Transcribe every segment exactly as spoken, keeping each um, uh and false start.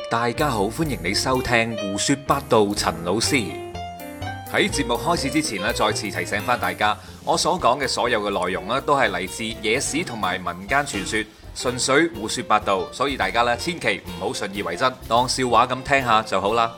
大家好，歡迎你收聽胡說八道。陳老師喺節目開始之前咧，再次提醒翻大家，我所講嘅所有嘅內容咧，都係嚟自野史同埋民間傳說，純粹胡說八道，所以大家咧千祈唔好信以為真，當笑話咁聽下就好啦。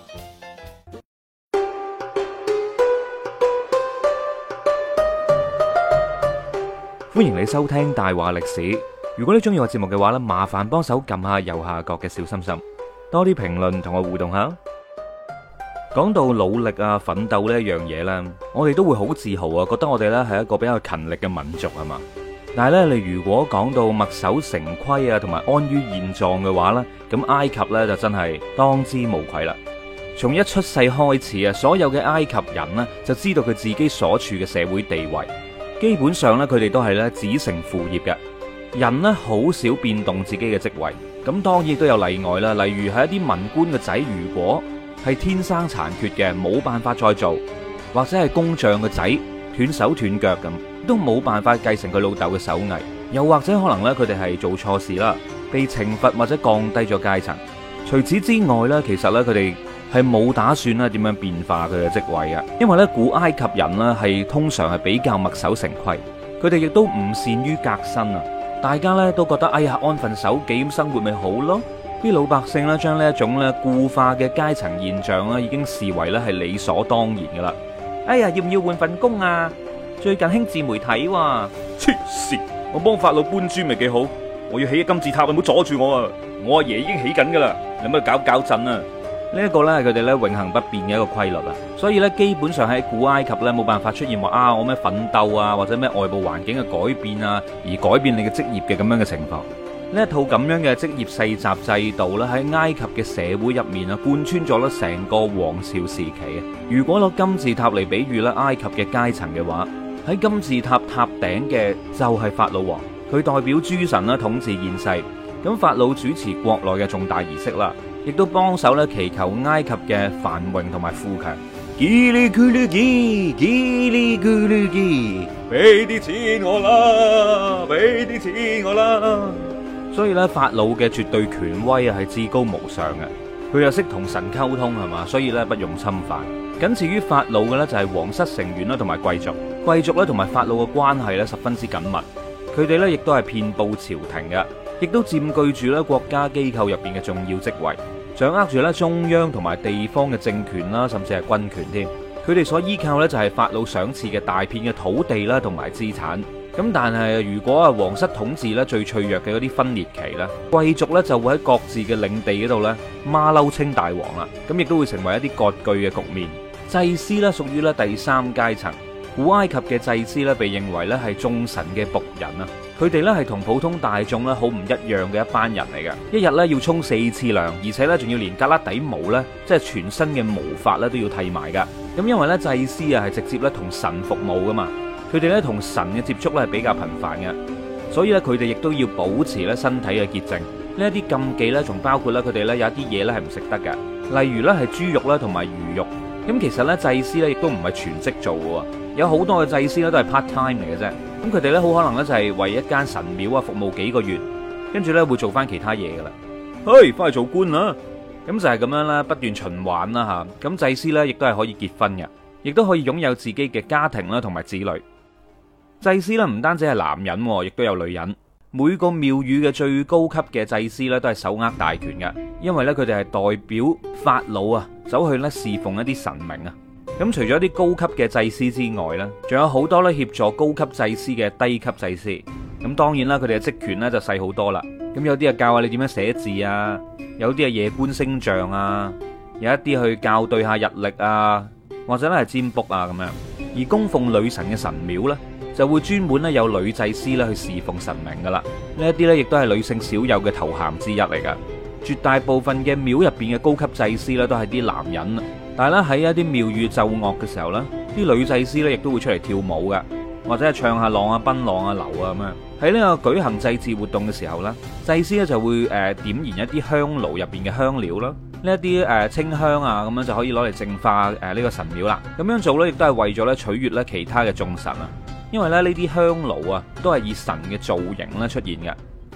歡迎你收聽大話歷史。如果你中意我節目嘅話咧，麻煩幫手撳下右下角嘅小心心，多啲評論同我互動下。講到努力啊、奮鬥呢一樣嘢呢，我哋都會好自豪啊，覺得我哋呢係一個比較勤力嘅民族啊嘛。但係呢，你如果講到墨守成規啊，同埋安於現狀嘅話呢，咁埃及呢就真係當之無愧啦。從一出世開始啊，所有嘅埃及人呢就知道佢自己所處嘅社會地位，基本上呢，佢哋都係呢子承父業嘅。人呢好少變動自己嘅職位，咁當然都有例外啦。例如係一啲文官嘅仔，如果係天生殘缺嘅，冇辦法再做，或者係工匠嘅仔斷手斷腳咁，都冇辦法繼承佢老豆嘅手藝。又或者可能呢，佢哋係做錯事啦，被懲罰或者降低咗階層。除此之外呢，其實呢，佢哋係冇打算咧點樣變化佢嘅職位嘅，因為呢，古埃及人呢係通常係比較墨守成規，佢哋亦都唔善於革新啊。大家咧都覺得哎呀，安分守己咁生活咪好咯。啲老百姓咧將呢一種咧固化嘅階層現象咧已經視為咧係理所當然噶啦。哎呀，要唔要換份工啊？最近興自媒體喎。黐線，我幫法老搬磚咪幾好？我要起金字塔，你唔好阻住我啊！我阿爺已經起緊噶啦，你咪搞搞震啊！呢一個咧係佢哋咧永恆不變嘅一個規律啊，所以咧基本上喺古埃及咧冇辦法出現話啊我咩奮鬥啊或者咩外部環境嘅改變啊而改變你嘅職業嘅咁樣嘅情況。呢一套咁樣嘅職業世襲制度咧喺埃及嘅社會入面啊貫穿咗咧成個王朝時期啊。如果攞金字塔嚟比喻咧埃及嘅階層嘅話，喺金字塔塔頂嘅就係法老王，佢代表諸神啦統治現世，咁法老主持國內嘅重大儀式啦。亦都幫手咧祈求埃及嘅繁榮同埋富強。嘰哩咕嚕嘰，嘰哩咕嚕嘰，俾啲錢我啦，俾啲錢我啦。所以咧，法老嘅絕對權威啊，係至高無上嘅。佢又識同神溝通係嘛，所以咧不容侵犯。僅次於法老嘅咧就係皇室成員啦，同埋貴族。貴族咧同埋法老嘅關係咧十分之緊密。佢哋咧亦都係遍佈朝廷嘅。亦都佔據住咧國家機構入邊嘅重要職位，掌握住咧中央同埋地方嘅政權啦，甚至係軍權添。佢哋所依靠咧就係法老賞賜嘅大片嘅土地啦，同埋資產。咁但係如果啊皇室統治咧最脆弱嘅嗰啲分裂期咧，貴族咧就會喺各自嘅領地嗰度咧馬騮稱大王啦。咁亦都會成為一啲割據嘅局面。祭司咧屬於咧第三階層。古埃及嘅祭司咧被認為咧係眾神嘅僕人啊。佢哋咧係同普通大眾咧好唔一樣嘅一班人嚟嘅，一日咧要沖四次涼，而且咧仲要連胳肋底毛咧，即係全身嘅毛髮咧都要剃埋噶。咁因為咧祭司啊係直接咧同神服務噶嘛，佢哋咧同神嘅接觸咧係比較頻繁嘅，所以咧佢哋亦都要保持咧身體嘅潔淨。呢一啲禁忌咧仲包括咧佢哋咧有一啲嘢咧係唔食得嘅，例如咧係豬肉啦同埋魚肉。咁其實咧祭司咧亦都唔係全職做嘅，有好多嘅祭司咧都係 part time 嚟嘅啫。咁佢哋咧好可能咧就係為一間神廟啊服務幾個月，跟住咧會做翻其他嘢噶啦。嘿，翻去做官啦！咁就係咁樣啦，不斷循環啦吓。咁祭司咧亦都係可以結婚嘅，亦都可以擁有自己嘅家庭啦同埋子女。祭司咧唔單止係男人，亦都有女人。每個廟宇嘅最高級嘅祭司咧都係手握大權嘅，因為咧佢哋係代表法老啊走去咧侍奉一啲神明啊。咁除咗啲高級嘅祭司之外呢，仲有好多咧協助高級祭司嘅低級祭司。咁當然啦，佢哋嘅職權咧就細好多啦。咁有啲係教下你點樣寫字啊，有啲係夜觀星象啊，有一啲去校對下日曆啊，或者咧係占卜啊咁樣。而供奉女神嘅神廟呢，就會專門咧有女祭司咧去侍奉神明噶啦。呢一啲咧亦都係女性少有嘅頭銜之一嚟噶。絕大部分嘅廟入邊嘅高級祭司咧都係啲男人。但係咧喺一啲廟宇奏樂嘅時候呢，啲女祭司咧亦都會出嚟跳舞嘅，或者係唱下浪啊、奔浪啊、流啊咁樣。喺呢個舉行祭祀活動嘅時候呢，祭司咧就會誒點燃一啲香爐入邊嘅香料啦，呢一啲誒清香啊咁樣就可以攞嚟淨化誒呢個神廟啦。咁樣做呢，亦都係為咗咧取悅咧其他嘅眾神啊。因為咧呢啲香爐啊都係以神嘅造型咧出現嘅。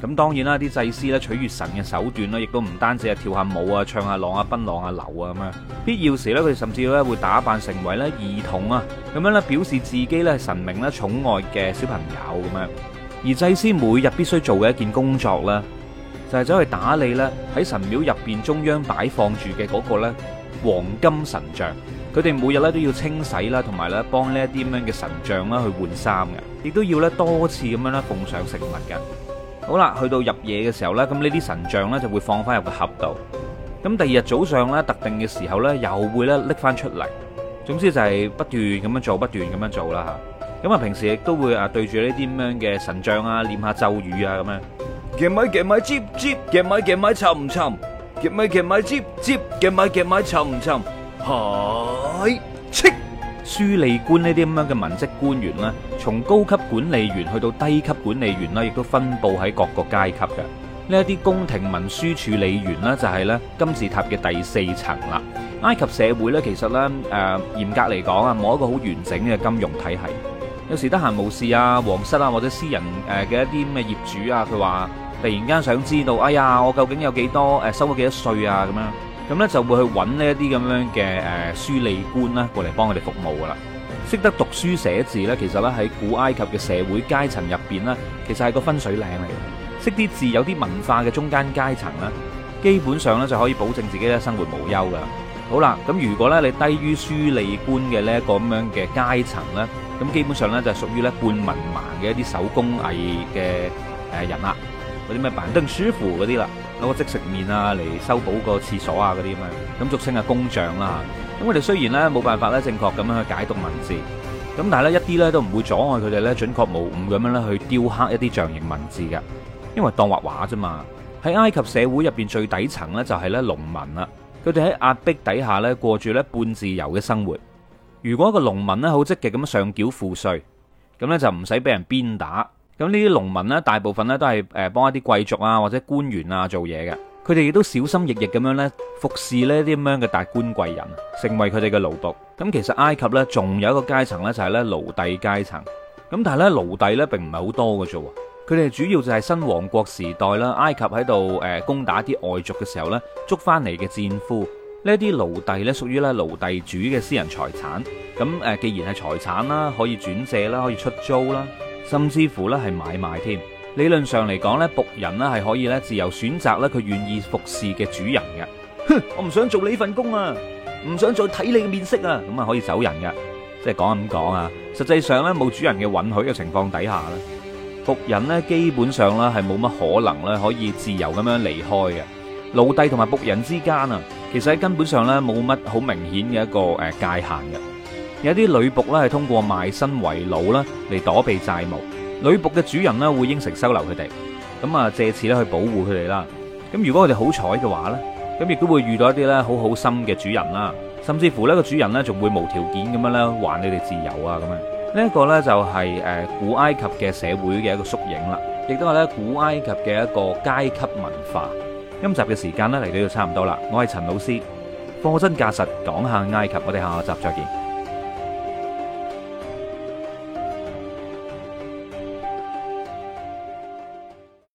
咁當然啦，啲祭司咧取悅神嘅手段咧，亦都唔單止係跳下舞啊、唱下浪啊、奔浪啊、流啊咁樣。必要時咧，佢哋甚至咧會打扮成為咧兒童啊，咁樣咧表示自己咧係神明咧寵愛嘅小朋友咁樣。而祭司每日必須做嘅一件工作咧，就係走去打理咧喺神廟入邊中央擺放住嘅嗰個咧黃金神像。佢哋每日咧都要清洗啦，同埋咧幫呢一啲咁樣嘅神像啦去換衫嘅，亦都要咧多次咁樣咧奉上食物嘅。好啦，去到入夜嘅時候咧，咁呢啲神像咧就會放翻入個盒度。咁第二日早上咧，特定嘅時候咧，又會咧拎翻出嚟。總之就係不斷咁樣做，不斷咁樣做啦嚇。咁啊，平時亦都會啊對住呢啲咁樣嘅神像啊，念下咒語啊咁樣。 夾咪夾咪接接，夾咪夾咪沉沉，夾咪夾咪接接，夾咪夾咪沉沉。係，切！ 書吏官呢啲咁樣嘅文職官員啦，從高級管理員去到低級管理員啦，亦都分佈喺各個階級嘅。呢一啲宮廷文書處理員呢，就係咧金字塔嘅第四層啦。埃及社會呢，其實呢，誒、呃、嚴格嚟講啊，冇一個好完整嘅金融體系。有時得閒無事啊，皇室啊或者私人誒嘅一啲咩業主啊，佢話突然間想知道，哎呀，我究竟有幾多誒收咗幾多稅啊咁樣。咁咧就會去揾呢一啲咁樣嘅誒書吏官啦，過嚟幫佢哋服務噶啦。識得讀書寫字咧，其實咧喺古埃及嘅社會階層入邊咧，其實係個分水嶺嚟嘅。識啲字有啲文化嘅中間階層咧，基本上咧就可以保證自己咧生活無憂噶。好啦，咁如果咧你低於書吏官嘅呢一個咁樣嘅階層咧，咁基本上咧就係屬於咧半文盲嘅一啲手工藝嘅誒人啦，嗰啲咩板凳師傅嗰啲啦。攞個即食麵啊嚟修補個廁所啊嗰啲咁樣，咁俗稱係工匠啦。咁佢哋雖然咧冇辦法咧正確咁樣去解讀文字，咁但係咧一啲咧都唔會阻礙佢哋咧準確無誤咁樣咧去雕刻一啲象形文字嘅，因為當畫畫啫嘛。喺埃及社會入邊最底層咧就係咧農民啦，佢哋喺壓迫底下咧過住咧半自由嘅生活。如果一個農民咧好積極咁樣上繳賦稅，咁咧就唔使俾人鞭打。咁呢啲農民呢，大部分呢都係誒幫一啲貴族啊或者官員啊做嘢嘅，佢哋亦都小心翼翼咁樣呢服侍呢啲咁樣嘅達官貴人，成為佢哋嘅奴僕。咁其實埃及呢，仲有一個階層呢，就係呢奴隸階層。咁但係呢，奴隸呢並唔係好多嘅啫，佢哋主要就係新王國時代啦，埃及喺度誒攻打啲外族嘅時候呢，捉翻嚟嘅戰俘。呢啲奴隸呢，屬於咧奴隸主嘅私人財產。咁誒既然係財產啦，可以轉借啦，可以出租啦。甚至乎咧係買賣添，理論上嚟講咧，僕人咧係可以咧自由選擇咧佢願意服侍嘅主人嘅。哼，我唔想做你份工啊，唔想再睇你嘅面色啊，咁啊可以走人嘅。即係講咁講啊，實際上咧冇主人嘅允許嘅情況底下咧，僕人咧基本上咧係冇乜可能咧可以自由咁樣離開嘅。奴隸同埋僕人之間啊，其實喺根本上咧冇乜好明顯嘅一個誒界限嘅。有啲女僕咧係通過賣身為奴啦嚟躲避債務，女僕嘅主人咧會應承收留佢哋，咁啊借此咧去保護佢哋啦。咁如果佢哋好彩嘅話咧，咁亦都會遇到一啲咧好好心嘅主人啦，甚至乎呢個主人咧仲會無條件咁樣咧還你哋自由啊咁樣。呢一個咧就係誒古埃及嘅社會嘅一個縮影啦，亦都係咧古埃及嘅一個階級文化。今集嘅時間咧嚟到就差唔多啦，我係陳老師，貨真價實講下埃及，我哋下集再見。